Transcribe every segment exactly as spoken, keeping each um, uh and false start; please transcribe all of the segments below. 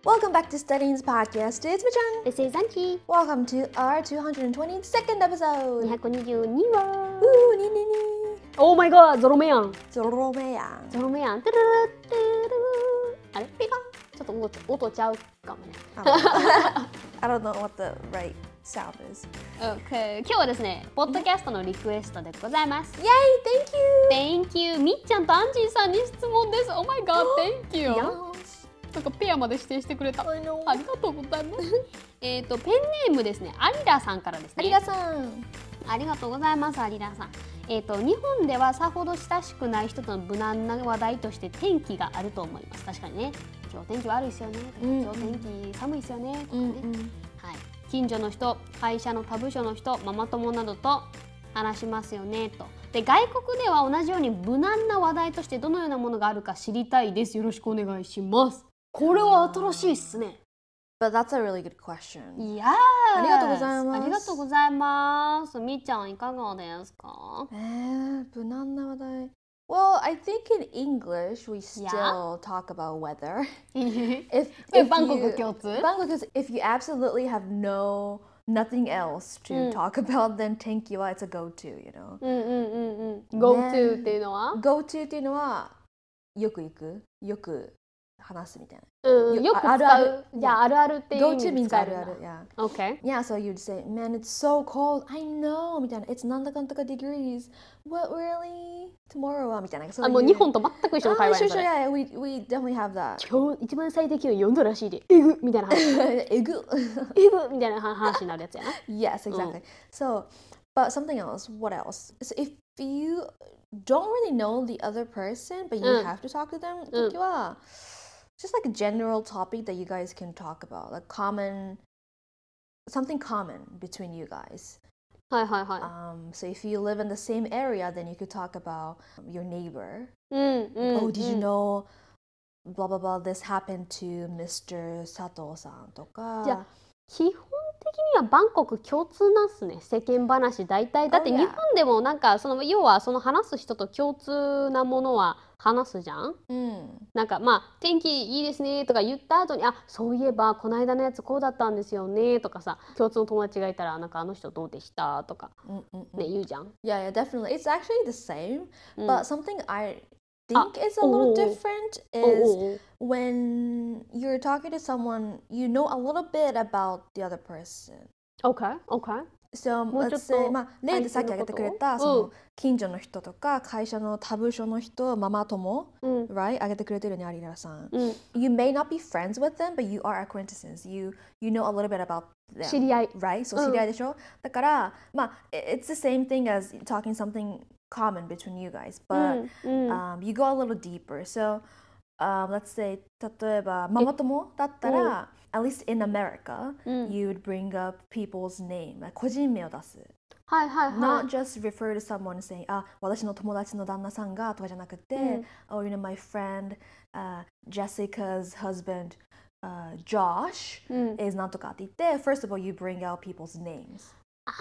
Welcome back to Studying's podcast. It's Machan. This is Anki. Welcome to our two hundred twenty-second episode. にひゃくにじゅうにわ。 Ooh, ni ni ni. Oh my god! ゾロ目やん。 ゾロ目やん。 ゾロ目やん。トゥルルトゥルル。あれピカン。ちょっと音音ちゃうかもね。 I don't know what the right sound is. Okay. 今日はですね、ポッドキャストのリクエストでございます。 Yay! Thank you! Thank you! みっちゃんとアンジーさんに質問です。Oh my god! Thank you! なんかペアまで指定してくれた。ありがとうございます。えっとペンネームですね。アリラさんからですね。 アリラさん。 ありがとうございます。アリラさん。えっと日本ではさほど親しくない人との無難な話題として天気があると思います。確かにね。今日天気悪いですよね。今日天気寒いですよね。とかね。はい。近所の人、会社の他部署の人、ママ友などと話しますよねと。で外国では同じように無難な話題としてどのようなものがあるか知りたいです。よろしくお願いします。これは新しいっすね。 But that's a really good question. いやありがとうございます。 ありがとうございます。みっちゃんいかがですか？ えー、無難な話題。Well, I think in English we still Yeah. talk about weather. if, if バンコク you, 共通 Bangkok is if you absolutely have no nothing else to talk about, then 天気は it's a go-to, you know. うんうんうんうん。go to っていうのは go-to っていうのはよく行く、よく話すみたいな。 うん、よく使う。 あるあるじゃああるあるっていう意 Go 味 to で means 使えるんだ。 あるある、yeah. Okay. Yeah, so you'd say, man, it's so cold. I know みたいな。It's なんだかんだか degrees. What really? Tomorrow はみたいな。 あ、もう日本と全く一緒の会話やん。 sure, sure, yeah, we, we definitely have that. 今日一番最低気温よんどらしいで、えぐみたいな話。 えぐえぐみたいな話になるやつやな。 Yes, exactly. So, but something else, what else? So if you don't really know the other person, but you have to talk to them, 時は、just like a general topic that you guys can talk about, like common, something common between you guys. はいはいはい。 Um, so if you live in the same area, then you could talk about your neighbor. うんうん。 Oh, did you know blah blah blah this happened to ミスター 佐藤さんとか。 じゃあ基本的にはバンコク共通なんすね。世間話大体だって日本でもなんかその要はその話す人と共通なものは話すじゃん。 うん、 なんかまあ天気いいですねとか言った後にあそういえばこの間のやつこうだったんですよねとかさ共通の友達がいたらなんかあの人どうでしたとかね言うじゃん。 Yeah, yeah, definitely. It's actually the same, but something I think is a little different is when you're talking to someone, you know a little bit about the other person. Okay, okay. So, let's say, まあ、例でさっき挙げてくれた、その近所の人とか会社の他部署の人、ママ友、right? 挙げてくれてるね、アリラさん。You may not be friends with them, but you are acquaintances. You, you know a little bit about them. 知り合い。 Right? そう、知り合いでしょ？だから、まあ、it's the same thing as talking something common between you guys, but um, you go a little deeper. So, um, let's say, 例えば、ママ友だったら、at least in America, you would bring up people's name, like 個人名を出す。 はいはいはい。 Not just refer to someone saying, あ、私の友達の旦那さんがとかじゃなくて、oh, you know, my friend, uh, Jessica's husband, uh, Josh is なんとかって言って、first of all, you bring out people's names.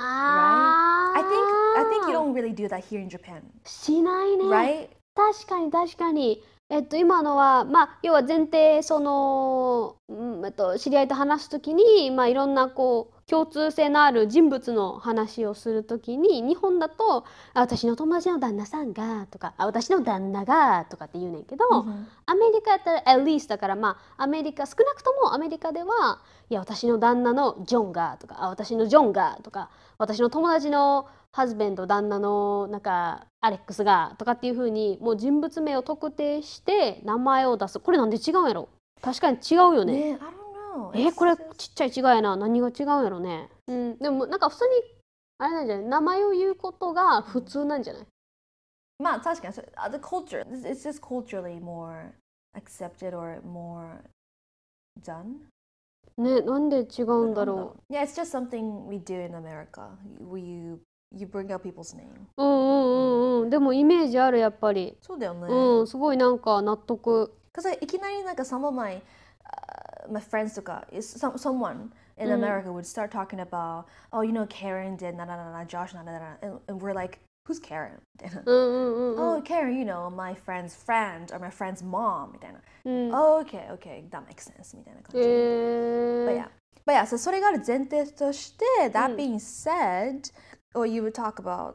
Right? I think I think you don't really do that here in Japan. しないね。 Right? 確かに確かに。えっと今のはまあ要は前提その、うんえっと、知り合いと話すときにまあいろんなこう共通性のある人物の話をするときに日本だとあ私の友達の旦那さんがとかあ私の旦那がとかって言うねんけど、アメリカやったら at least だからまあアメリカ少なくともアメリカではいや私の旦那のジョンがとかあ私のジョンがとか私の友達のハズベンド旦那のなんかアレックスがとかっていう風にもう人物名を特定して名前を出す。これなんで違うんやろ？確かに違うよね。 ね、I don't know. えこれちっちゃい違いやな。何が違うんやろね。うん、でもなんか普通にあれなんじゃない？名前を言うことが普通なんじゃない？ まあ確かに the culture, it's just culturally more accepted or more done. ね、なんで違うんだろう。Yeah, it's just something we do in America. We you bring out people's name. うんうんうんうん。でもイメージあるやっぱり。 そうだよね。 うん、すごいなんか納得。 Because いきなりなんか some of my my friends とか some someone in America would start talking about oh you know Karen did なななな Josh なななな and and we're like who's Karen? みたいな。 うんうんうん。 Oh Karen, you know my friend's friend or my friend's mom みたいな。 うん、 Okay, okay, that makes sense みたいな感じ。 え But ー、 yeah, but yeah, so それがある前提として、 う that ん being said, or you would talk about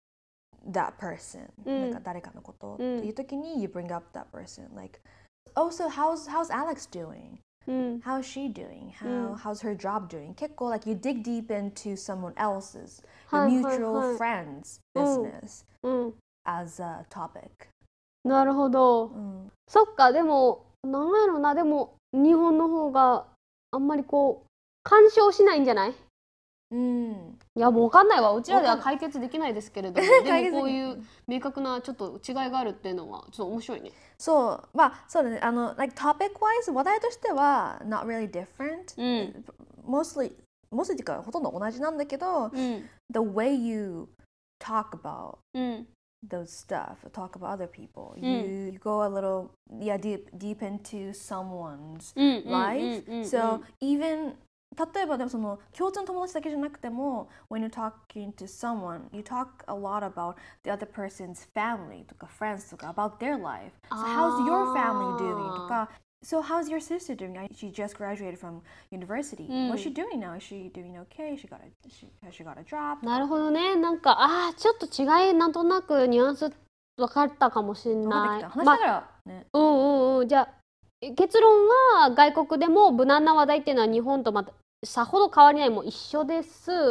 that person, うなんかん誰かのことうっていうん時に you bring up that person, like, oh, so how's how's Alex doing? うん How's she doing? う How ん how's her job doing? 結構 like you dig deep into someone else's, your はいはい mutual はい friend's うん business うん as a topic. なるほど、 うん、 そっかでもなんやろなでも日本の方があんまりこう干渉しないんじゃない？ うん、 いやもう分かんないわうちらではわかん解決できないですけれどもで解決できないもこういう明確なちょっと違いがあるっていうのはちょっと面白いね。 そう、まあそうだね。あの、like topic wise 話題としては not really different. うん mostly mostly っていうかほとんど同じなんだけど、 うん the way you talk about うん those stuff, talk about other people, うん you, you go a little yeah deep deep into someone's うんうん life. うんうん So even 例えばでもその共通の友達だけじゃなくても when you're talking to someone you talk a lot about the other person's family とか friends とか about their life. So how's your family doing とか So how's your sister doing? She just graduated from university. What's she doing now? Is she doing okay? She got a she, has she got a job? なるほどねなんかあーちょっと違いなんとなくニュアンス分かったかもしれ分かってきた。 ない。 話しながらね。 うんうんうんじゃあ結論は外国でも無難な話題っていうのは日本とまたさほど変わりないも一緒です。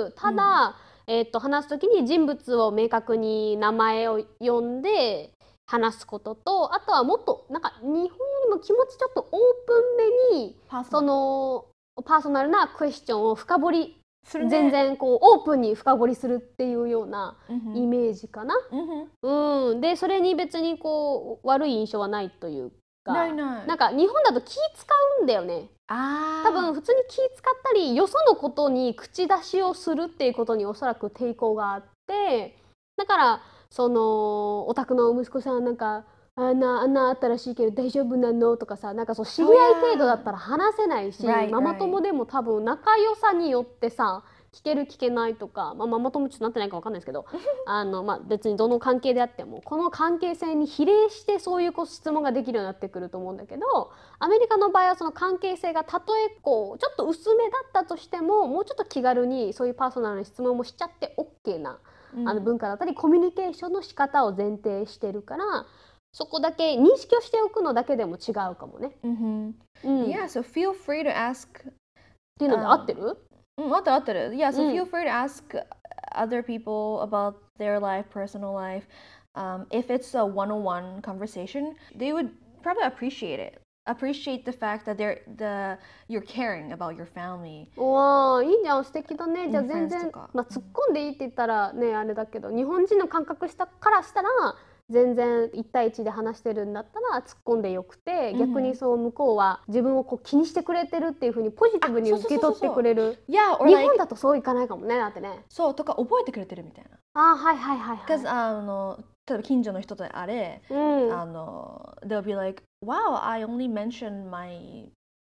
ただ、うん、えー、と話すときに人物を明確に名前を呼んで話すこととあとはもっとなんか日本よりも気持ちちょっとオープンめにそのパーソナルなクエスチョンを深掘りする、ね、全然こうオープンに深掘りするっていうようなイメージかな。うん、うん、でそれに別にこう悪い印象はないというかないないなんか日本だと気使うんだよね。あ多分普通に気使ったりよそのことに口出しをするっていうことにおそらく抵抗があってだからそのお宅の息子さんなんかあんなあんなあったらしいけど大丈夫なのとかさなんかそう知り合い程度だったら話せないし、right, ママ友でも多分仲良さによってさ聞ける聞けないとか、まあ、ママ友ちょっとなってないか分かんないですけどあの、まあ、別にどの関係であってもこの関係性に比例してそういう質問ができるようになってくると思うんだけどアメリカの場合はその関係性がたとえこうちょっと薄めだったとしてももうちょっと気軽にそういうパーソナルな質問もしちゃって OK な、うん、あの文化だったりコミュニケーションの仕方を前提してるからそこだけ認識をしておくのだけでも違うかもね。 Mm-hmm. うん、yeah, so feel free to ask っていうので合ってる？ うん、合ってる合ってる。Yeah, so feel free to ask other people about their life, personal life. Um, if it's a one-on-one conversation, they would probably appreciate it. Appreciate the fact that they're the you're caring about your family. わあ、いいじゃん、素敵だね。じゃあ全然、まあ突っ込んでいいって言ったらねあれだけど、日本人の感覚したからしたら。全然いち対いちで話してるんだったら突っ込んでよくて、うん、逆にそう向こうは自分をこう気にしてくれてるっていう風にポジティブに受け取ってくれる。日本だとそういかないかもねだってね。 そうとか覚えてくれてるみたいな。 あはいはいはいはい。 because あの例えば近所の人であれ、うん、あの they'll be like, wow, I only mentioned my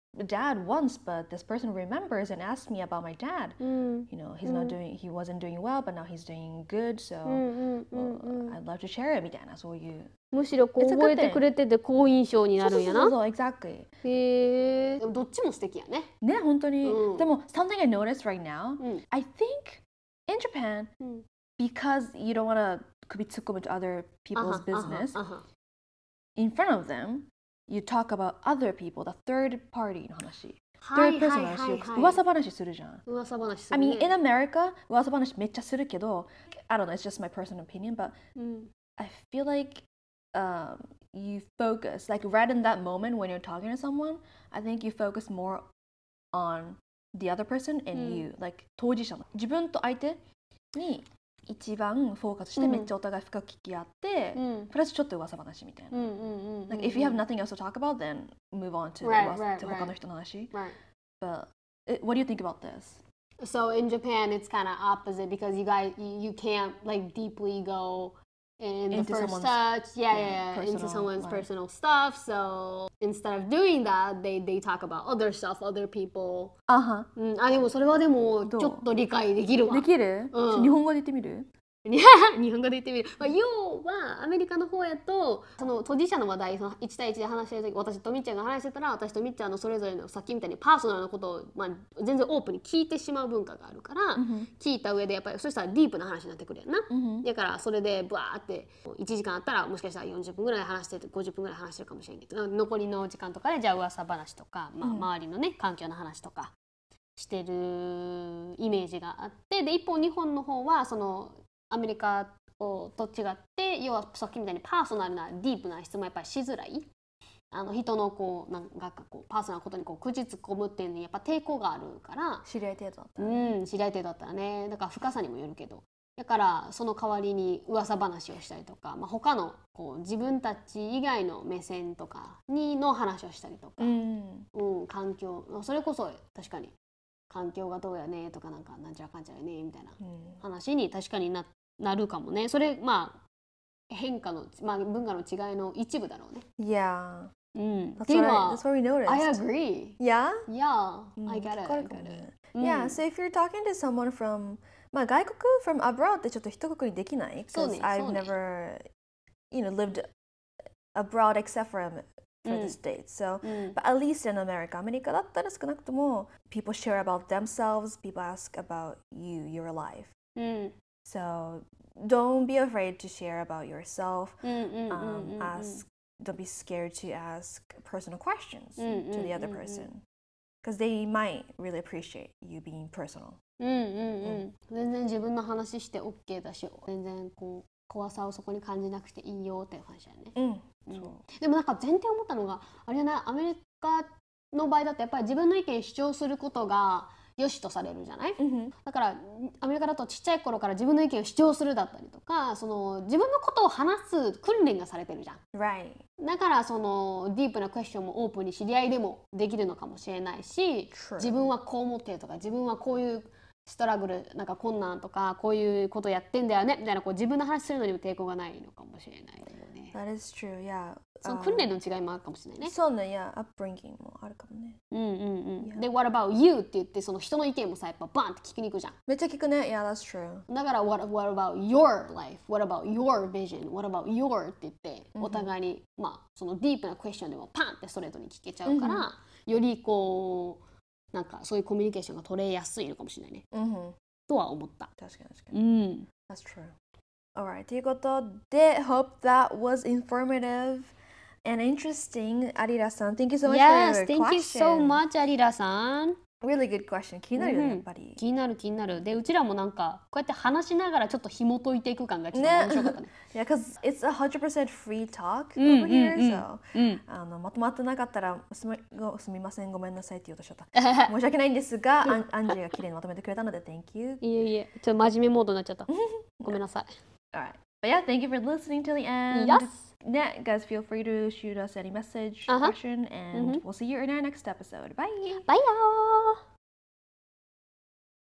dad once, but this person remembers and asks me about my dad. Mm. You know, he's mm. not doing, he wasn't doing well, but now he's doing good. So mm, mm, well, mm, I'd love to share it みたいなそういう。 むしろこう覚えてくれてて好印象になるんやな。 そうそうそう、exactly。 へえ。でもどっちも素敵やね。 ね、本当に。うん、でも something I noticed right now, うん、I think in Japan, うん、because you don't want to 首突っ込む to other people's business, in front of them.You talk about other people, the third party の話。third person の話を噂話するじゃん。 噂話するね。 I mean, in America, 噂話めっちゃするけど、I don't know, it's just my personal opinion, but、うん、I feel like、um, you focus, like right in that moment when you're talking to someone, I think you focus more on the other person and、うん、you, like 当事者の。自分と相手に一番フォーカスしてめっちゃお互い深く聞き合って、うん、プラスちょっと噂話みたいな。Like if you have nothing else to talk about, then move on to right, right, right. 他の人の話。 Right. But it, what do you think about this? So in Japan, it's kind of opposite because you guys you, you can't like deeply go in the into first touch, yeah, yeah, yeah into someone's life. personal stuff. So instead of doing that, they they talk about other stuff, other people. あは。 うん、あでもそれはでもちょっと理解できるわ。 できる？うん、日本語で言ってみる？ 日本語で言ってみる、まあ、要はアメリカの方やとその当事者の話題そのいち対いちで話してる時私とみっちゃんが話してたら私とみっちゃんのそれぞれのさっきみたいにパーソナルなことを、まあ、全然オープンに聞いてしまう文化があるから、 Mm-hmm. 聞いた上でやっぱりそしたらディープな話になってくるやんな、 Mm-hmm. だからそれでバーっていちじかんあったらもしかしたらよんじゅっぷんぐらい話しててごじゅっぷんぐらい話してるかもしれんけど残りの時間とかでじゃあ噂話とか、まあ、周りのね環境の話とかしてるイメージがあってで一方日本の方はそのアメリカと違って要はさっきみたいにパーソナルなディープな質問やっぱりしづらいあの人のこうなんかこうパーソナルなことにこう口突っ込むっていうのにやっぱ抵抗があるから知り合い程度だったら、 ね、うん知り合い程度だったらねだから深さにもよるけどだからその代わりに噂話をしたりとか、まあ、他のこう自分たち以外の目線とかにの話をしたりとか、 うんうん、環境それこそ確かに環境がどうやねとかなんかなんちゃらかんちゃらねみたいな話に確かに な, なるかもねそれまあ変化の、まあ、文化の違いの一部だろうね Yeah. うん、 That's what, I, that's what we noticed. I agree. Yeah? Yeah, うん I get it. か I るかも get ね it. Yeah, うん so if you're talking to someone from まあ外国 from abroad ってちょっと一括りできないそう Because ね I've そうね never you know lived abroad except for, for うん the States so うん but at least in America アメリカだったら少なくとも people share about themselves people ask about you your life うん so don't be afraid to share about yourself うんうんうんうん um, ask don't be scared to ask personal questions うんうん to the other うんうん person because they might really appreciate you being personal うんうんうん全然自分の話して OK だし全然こう怖さをそこに感じなくていいよっていう話だよね、 うんうん、でもなんか前提思ったのがあれじゃないアメリカの場合だとやっぱり自分の意見主張することが良しとされるじゃない、 うんだからアメリカだとちっちゃい頃から自分の意見を主張するだったりとかその自分のことを話す訓練がされてるじゃん Right だからそのディープなクエスチョンもオープンに知り合いでもできるのかもしれないし True 自分はこう思ってるとか自分はこういうストラグルなんか困難とかこういうことやってんだよねみたいなこう自分の話するのにも抵抗がないのかもしれないよね That is true yeah その訓練の違いもあるかもしれないねそうね、いや、upbringing もあるかもね。 うんうんうん。 Yeah. で、what about you って言ってその人の意見もさやっぱバンって聞きに行くじゃん。 めっちゃ聞くね。Yeah, that's true. だから what, what about your life? What about your vision? What about your って言ってお互いに、まあそのディープなクエスチョンでもパンってストレートに聞けちゃうから、よりこうなんかそういうコミュニケーションが取れやすいのかもしれないね。 うん。 とは思った。 確かに確かうに。 ん。 That's true. Alright, ということで、hope that was informative and interesting. アリラさん、thank you so much Yes, for your thank you so question. much アリラさん。 Really good question. 気になるよね、 うんやっぱり。 気になる気になる。で、うちらもなんかこうやって話しながらちょっと紐解いていく感がちょっと面白かったね。 Yeah, because it's a hundred percent free talk うん over here, うんうん so うん。 あのまとまってなかったらすみごすみませんごめんなさいって言おうとしちゃった申し訳ないんですがアンアンジーが綺麗にまとめてくれたので Thank you いえいえ、ちょっと真面目モードになっちゃった。ごめんなさい。 Alright but yeah thank you for listening till the end Yes. yeah guys feel free to shoot us any message Uh-huh. question and Mhm. we'll see you in our next episode bye バイヤー